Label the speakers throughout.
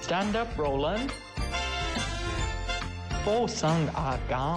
Speaker 1: Stand up, Roland。附送阿減。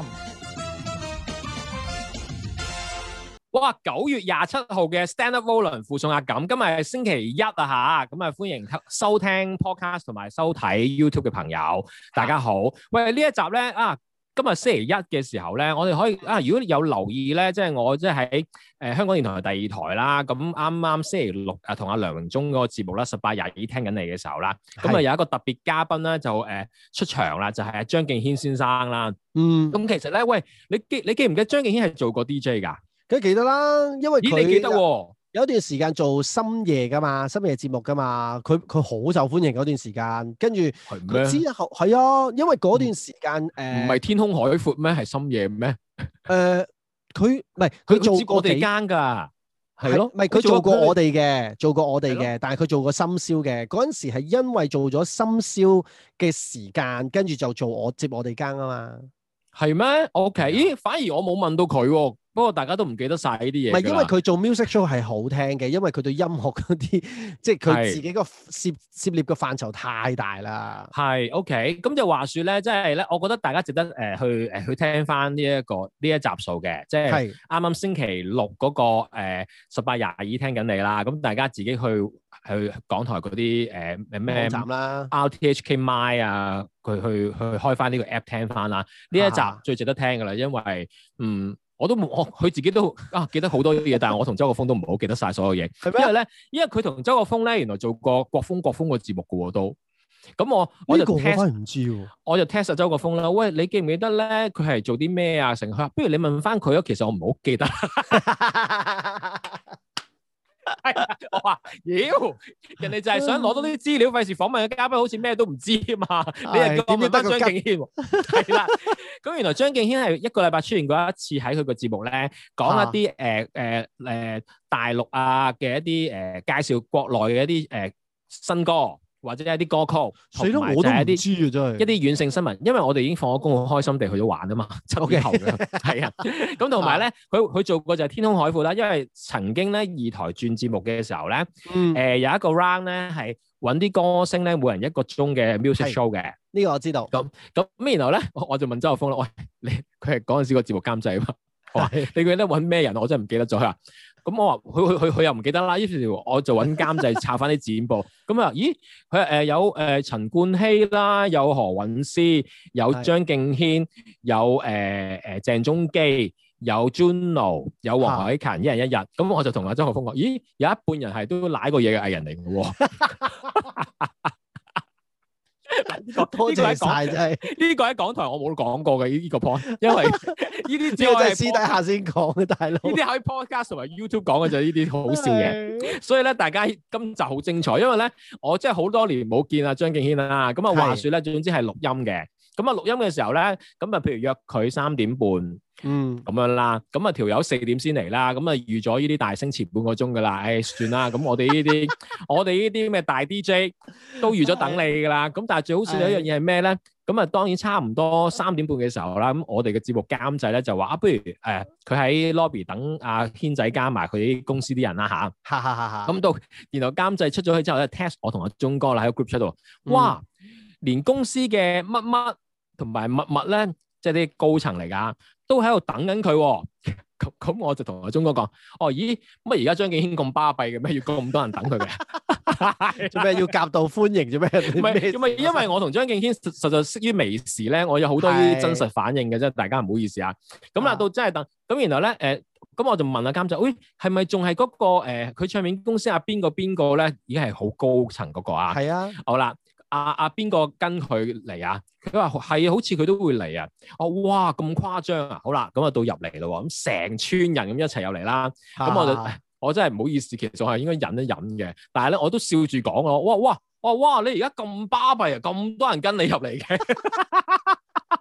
Speaker 2: 哇！9月27號嘅 Stand Up Roland 附送阿減，今日係星期一啊嚇，咁啊歡迎收聽 podcast 同埋收睇 YouTube 嘅朋友，大家好。喂，呢一集咧啊，今日星期一嘅時候咧，我哋可以啊，如果有留意咧，即係我即係喺香港電台第2台啦，咁啱啱星期六啊，同阿梁榮忠嗰個節目啦，1822聽緊你嘅時候啦，咁啊有一個特別嘉賓咧就出場啦，就係張敬軒先生啦。咁其實咧，喂，你記唔記得張敬軒係做過 DJ 㗎？
Speaker 3: 梗係記得啦，因為佢
Speaker 2: 你記得喎？
Speaker 3: 有一段時間做深夜噶嘛，深夜節目噶嘛，佢好受歡迎嗰段時間，跟住佢之後係啊，因為嗰段時間
Speaker 2: 唔係天空海闊咩？係深夜咩？
Speaker 3: 佢唔係佢做過
Speaker 2: 我哋間㗎，係咯，
Speaker 3: 唔係佢做過我哋嘅，但係佢做過深宵嘅嗰陣時係因為做咗深宵嘅時間，跟住就接我哋間啊嘛。係
Speaker 2: 咩 ？OK， 咦，反而我冇問到佢喎。不過大家都唔記得晒呢啲嘢。
Speaker 3: 唔係因為佢做 music show 係好聽嘅，因為佢對音樂嗰啲，即係佢自己個涉獵嘅範疇太大啦。
Speaker 2: 係 OK， 咁就話説咧，即係咧，我覺得大家值得去聽翻呢一集數嘅，即係啱啱星期六嗰個1822聽緊你啦。咁大家自己去港台嗰啲咩
Speaker 3: 站啦
Speaker 2: ，RTHK My 啊，佢去開翻呢個 app 聽翻啦。呢一集最值得聽㗎啦，因為我都冇，佢自己都記得好多嘢，但係我同周國峰都唔係好記得晒所有嘢。因為佢同周國峰咧，原來做過國風個節目嘅喎都。咁我就 test
Speaker 3: 唔知喎，
Speaker 2: 我就 test 周國峰啦。喂，你記唔記得咧？佢係做啲咩啊？成佢話，不如你問翻佢咯。其實我唔係好記得。我話，人哋就係想攞多啲資料，費事訪問嘅嘉賓好似咩都唔知啊嘛。你又叫我問翻張敬軒喎，係啦。咁原來張敬軒係一個禮拜出現過一次喺佢個節目咧，講一啲大陸啊嘅一啲介紹國內嘅一啲新歌。或者一啲歌曲，同埋就係一啲軟性新聞，因為我哋已經放咗工，好開心地去咗玩啊嘛，7點後嘅，係啊。咁同埋咧，佢做過就係天空海闊啦，因為曾經咧2台轉節目嘅時候咧，有一個 round 咧係揾啲歌星咧，每人1個鐘嘅 music show 嘅。
Speaker 3: 呢個我知道。
Speaker 2: 咁然後咧，我就問周國峰啦，喂，佢係嗰陣時個節目監製啊嘛，我話你記得揾咩人？我真係唔記得咗佢。咁我話佢又唔記得啦，於是我就揾監製抄翻啲剪報。咁啊，咦？佢有陳冠希啦，有何韻詩，有張敬軒，有鄭中基，有 Juno， 有黃凱芹，一人一日。咁我就同阿周國峰講：咦，有一半人係都舐過嘢嘅藝人嚟嘅喎。
Speaker 3: 多謝晒，真係
Speaker 2: 呢個喺港台我冇講過嘅呢個 point， 因為呢啲只係
Speaker 3: 私底下先講嘅，大佬。
Speaker 2: 呢啲喺 podcast 同埋 YouTube 講嘅就係呢啲好笑嘢，所以咧大家今集好精彩，因為咧我真係好多年冇見阿張敬軒啦，咁啊話説咧，總之係錄音嘅，咁啊錄音嘅時候咧，咁啊譬如約佢3點半，咁樣啦，咁啊條友4點先嚟啦，咁啊預咗呢啲大聲前半個鐘噶啦，算啦，咁我哋呢啲咩大 DJ 都預咗等你噶啦，咁但係最好笑嘅一樣嘢係咩咧？咁啊當然差唔多3點半嘅時候啦，咁我哋嘅節目監製咧就話不如佢喺 lobby 等阿軒仔加埋佢啲公司啲人啦嚇，咁到然後監製出咗去之後咧 test 我同阿鐘哥啦喺個 group 出度，哇！連公司嘅乜乜同埋乜咧，即係啲高層嚟㗎，都喺度等緊佢喎。咁我就同阿鐘哥講：咦，乜而家張敬軒咁巴閉嘅咩？要咁多人等佢嘅？
Speaker 3: 做咩要夾道歡迎做咩？
Speaker 2: 唔係，因為我同張敬軒實在識於微時咧，我有好多呢啲真實反應嘅啫，大家唔好意思啊。咁到真係等，咁然後咧咁我就問阿監製：喂，係咪仲係嗰個佢唱片公司邊個咧？已經係好高層嗰個啊？係啊。好啦。邊個跟佢嚟啊？佢話係啊，好似佢都會嚟啊！哇，咁誇張啊！好啦，咁啊到入嚟咯，咁成村人咁一齊入嚟啦。咁我真係唔好意思，其實我係應該忍一忍嘅。但係咧，我都笑住講咯。哇！你而家咁巴閉啊，咁多人跟你入嚟嘅。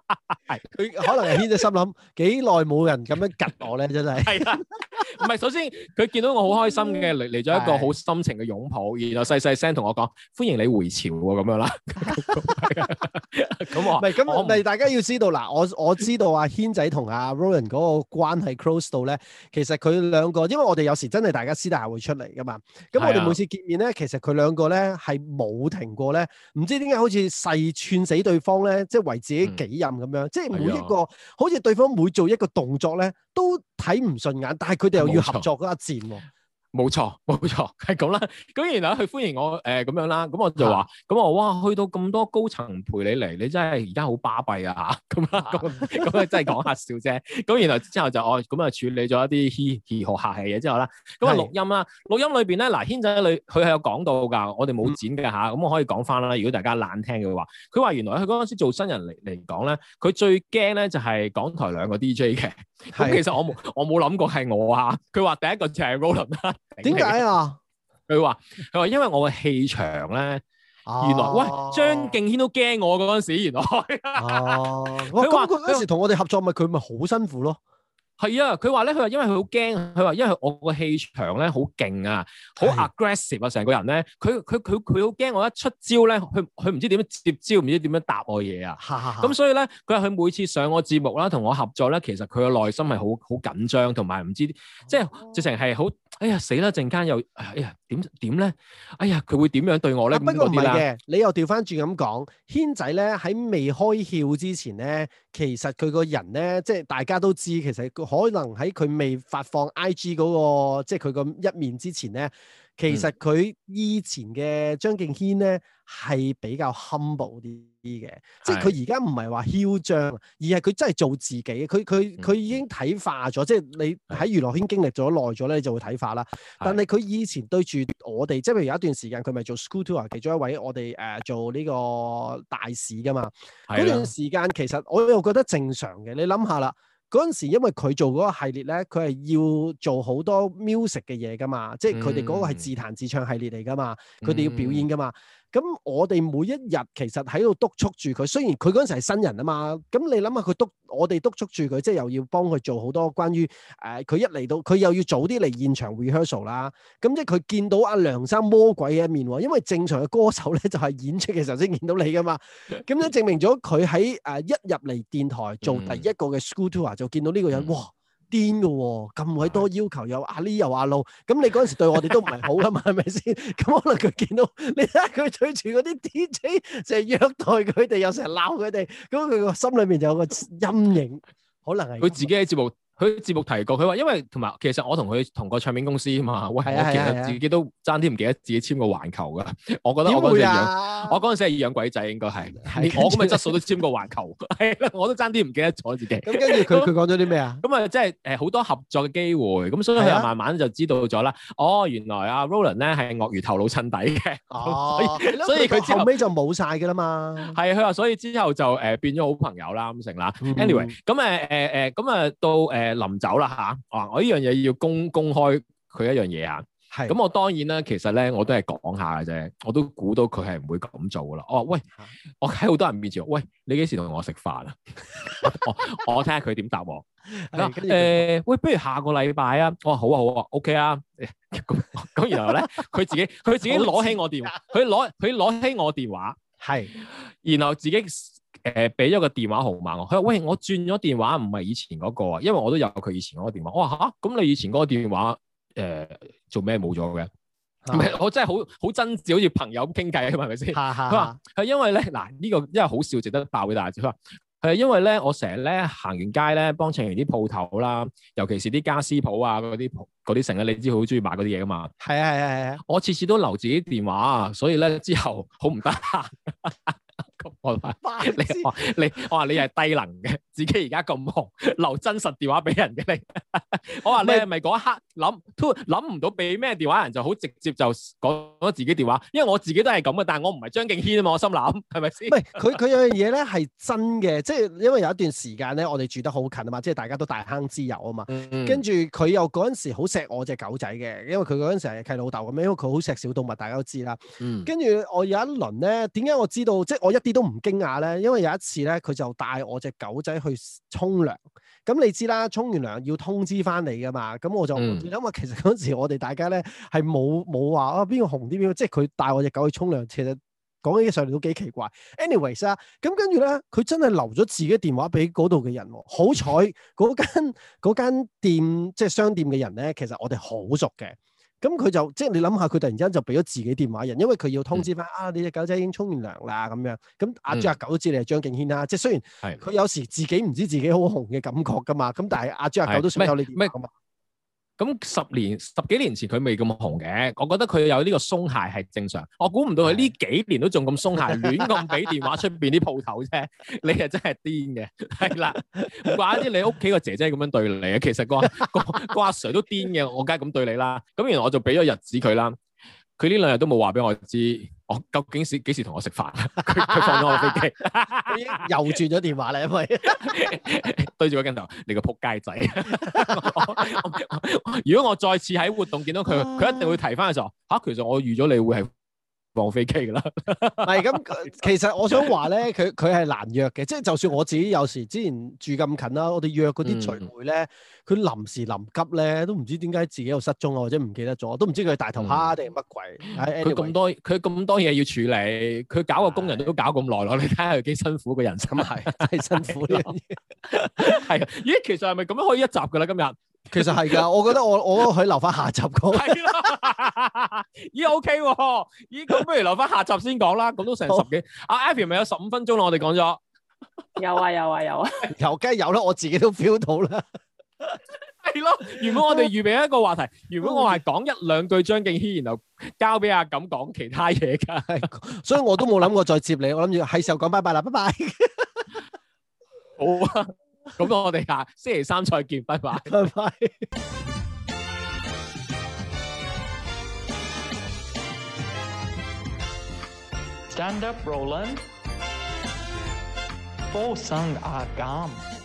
Speaker 3: 佢可能係軒仔心諗幾耐冇人咁樣吉我咧，真係。
Speaker 2: 係啊，唔係首先佢見到我好開心嘅嚟咗一個好深情嘅擁抱，然後細細聲同我講歡迎你回潮喎咁樣啦。咁我
Speaker 3: 唔係咁，唔係大家要知道嗱，我知道阿軒仔同阿 Roland 嗰個關係 close 到咧，其實佢兩個，因為我哋有時真係大家私底下會出嚟噶嘛，咁我哋每次見面咧，其實佢兩個咧係冇停過咧，唔知點解好似誓串死對方咧，即係為自己己任咁樣，即係每一個好似對方每做一個動作咧，都睇唔順眼，但係佢哋又要合作嗰一戰喎。
Speaker 2: 冇錯，係咁啦。咁然後佢歡迎我咁樣啦。咁我就話，咁我哇，去到咁多高層陪你嚟，你真係而家好巴閉啊！咁啦，咁啊真係講下笑啫。咁然後之後就咁啊處理咗一啲嘻呵客氣嘢之後啦。咁啊錄音啦，錄音裏邊咧嗱，軒仔佢係有講到㗎，我哋冇剪嘅嚇。咁我可以講翻啦。如果大家懶聽嘅話，佢話原來佢嗰陣時做新人嚟講咧，佢最驚咧就係港台兩個 DJ 嘅。咁其實我冇諗過係我啊。佢話第一個就係 Roland 啦。
Speaker 3: 點解啊？
Speaker 2: 佢話因為我嘅氣場咧，原來喂張敬軒都驚我嗰陣時，原來
Speaker 3: 佢話佢嗰時同我哋合作，佢咪好辛苦咯。
Speaker 2: 係啊，佢話因為佢好驚，佢話因為我個氣場咧好勁啊，好 aggressive 啊，成個人咧，佢好驚我一出招咧，佢唔知點樣接招，唔知點樣答我嘢啊。咁所以咧，佢話佢每次上我節目啦，同我合作咧，其實佢嘅內心係好緊張，同埋唔知即係直情係好，哎呀死啦！陣間又哎呀點咧？哎呀佢會點樣對我咧？
Speaker 3: 不過唔係嘅，你又調翻轉咁講，軒仔咧喺未開竅之前咧，其實佢個人咧，即係大家都知，其實可能喺佢未發放 IG 嗰個，即係佢個一面之前咧，其實佢以前嘅張敬軒咧係比較 humble 啲嘅，即係佢而家唔係話囂張，而係佢真係做自己。佢已經睇化咗，即係你喺娛樂圈經歷咗耐咗咧，你就會睇化啦。但係佢以前對住我哋，即係譬如有一段時間佢咪做 school tour 其中一位我哋做呢個大使噶嘛，嗰段時間其實我又覺得正常嘅。你諗下啦。嗰陣時，因為佢做嗰個系列咧，佢係要做好多 music 嘅嘢噶嘛，即係佢哋嗰個係自彈自唱系列嚟噶嘛，佢哋要表演噶嘛。咁我哋每一日其實喺度督促住佢，雖然佢嗰陣時係新人啊嘛，咁你諗下我哋督促住佢，即係又要幫佢做好多關於佢一嚟到佢又要早啲嚟現場 rehearsal 啦，咁即係佢見到阿梁生魔鬼嘅一面喎，因為正常嘅歌手咧就係演出嘅時候先見到你噶嘛，咁咧證明咗佢喺一入嚟電台做第一個嘅 school tour 就見到呢個人，哇！癲嘅喎，咁鬼多要求，有阿 Lee 又阿路，咁你嗰陣時對我哋都唔係好噶嘛，係咪先？咁可能佢見到你睇下佢對住嗰啲 DJ，成日虐待佢哋，又成日鬧佢哋，咁佢個心裏面就有個陰影，可能係
Speaker 2: 佢自己喺節目。佢節目提過，佢話因為同埋其實我同佢同個唱片公司啊嘛，喂，我其實自己都爭啲唔記得自己簽過環球噶，我覺得我嗰陣時係養鬼仔應該係，我咁嘅質素都簽過環球，係啦，我都爭啲唔記得咗自己。
Speaker 3: 咁跟住佢講咗啲咩啊？
Speaker 2: 咁啊，即係好多合作嘅機會，咁所以佢又慢慢就知道咗啦。哦，原來阿 Roland 咧係鱷魚頭腦襯底嘅，所以佢後
Speaker 3: 尾就冇晒㗎啦嘛。
Speaker 2: 係佢話，所以之後就變咗好朋友啦咁成啦。Anyway，咁咁到臨走啦嚇，我呢樣嘢要公開佢一樣嘢啊。係。咁我當然啦，其實咧我都係講下嘅啫，我都估到佢係唔會咁做噶啦。喂，我喺好多人面前，喂，你幾時同我食飯啊？我睇下佢點答我。喂，不如下個禮拜啊。我話好啊好啊 ，OK 啊。咁然後咧，佢自己攞起我電話，佢攞起我電話，係，然後自己。俾咗個電話號碼我，佢話喂，我轉咗電話，唔係以前嗰個啊，因為我都有佢以前嗰個電話。我話吓，咁你以前嗰個電話做咩冇咗嘅？唔係，我真係好真摯，好似朋友咁傾偈啊嘛，係咪先？佢話係因為咧，嗱呢個因為好笑，值得爆俾大家知。佢話係因為咧，我成日咧行完街咧，幫襯完啲鋪頭啦，尤其是啲家私鋪啊嗰啲成日你知佢好中意買嗰啲嘢噶嘛。係啊，我次次都留自己電話，所以咧之後好唔得閒。我話你係低能嘅，自己而家咁紅，留真實電話俾人嘅你。我話你係咪嗰一刻諗唔到俾咩電話人，就好直接就講咗自己電話？因為我自己都係咁嘅，但係我唔係張敬軒啊嘛，我心諗係咪先？唔係
Speaker 3: 佢有樣嘢咧係真嘅，即係因為有一段時間咧，我哋住得好近啊嘛，即係大家都大坑之友啊嘛。跟住佢又嗰陣時好錫我隻狗仔嘅，因為佢嗰陣時係契老豆咁樣，因為佢好錫小動物，大家都知啦。跟住我有一輪咧，點解我知道？即係我一啲都唔唔驚訝咧？因為有一次咧，佢就帶我隻狗仔去沖涼。咁你知啦，沖完涼要通知翻你噶嘛。咁我就你諗下，其實嗰陣時我哋大家咧係冇話啊邊個紅啲邊個，即係佢帶我隻狗去沖涼，其實講起上嚟都幾奇怪。anyways 啊，咁跟住咧，佢真係留咗自己電話俾嗰度嘅人喎。好彩嗰間店即係商店嘅人咧，其實我哋好熟嘅。咁佢就即係你諗下，佢突然之間就俾咗自己電話人，因為佢要通知翻你隻狗仔已經沖完涼啦咁樣。咁阿豬阿狗都知你係張敬軒啦，即係雖然佢有時自己唔知自己好紅嘅感覺噶嘛，咁但係阿豬阿狗都想有你電話噶嘛。
Speaker 2: 咁十幾年前佢未咁紅嘅，我覺得佢有呢個鬆懈係正常。我估唔到佢呢幾年都仲咁鬆懈，亂咁俾電話出邊啲鋪頭啫。你係真係癲嘅，係啦。唔怪之你屋企個姐姐咁樣對你啊。其實個阿 Sir 都癲嘅，我梗係咁對你啦。咁然後我就俾咗日子佢啦。佢呢2日都冇話俾我知，我究竟幾時同我食飯？佢放咗我飛機，
Speaker 3: 又轉咗電話啦，因為
Speaker 2: 對住個鏡頭，你個撲街仔！如果我再次喺活動見到佢，佢一定會提翻嘅時候，其實我預咗你會係放飛機噶啦。
Speaker 3: 係咁，其實我想話咧，佢係難約嘅，即係就算我自己有時之前住咁近啦，我哋約嗰啲聚會咧，佢臨時臨急咧，都唔知點解自己又失蹤啊，或者唔記得咗，都唔知佢係大頭蝦定係乜鬼。佢
Speaker 2: 咁多嘢要處理，佢搞個工人都搞咁耐咯，你睇下佢幾辛苦個人生。
Speaker 3: 係真係辛苦呢樣嘢。
Speaker 2: 係啊，咦，其實係咪咁樣可以一集噶啦？今日？
Speaker 3: 其實係㗎，我覺得我可以留翻下集講。
Speaker 2: 係啦，咦 OK 喎，咦咁不如留翻下集先講啦，咁都成10幾。阿 Ivy 咪有15分鐘啦，我哋講咗。
Speaker 4: 有啊，
Speaker 3: 梗係有啦，我自己都 feel 到啦。
Speaker 2: 係咯，原本我哋預備一個話題，原本我係講1-2句張敬軒，然後交俾阿錦講其他嘢㗎，
Speaker 3: 所以我都冇諗過再接你，我諗住係時候講拜拜啦，拜拜。
Speaker 2: 好啊。咁我哋星期3再見，拜拜，
Speaker 3: 拜拜。
Speaker 1: Stand up, Roland. 附送阿減。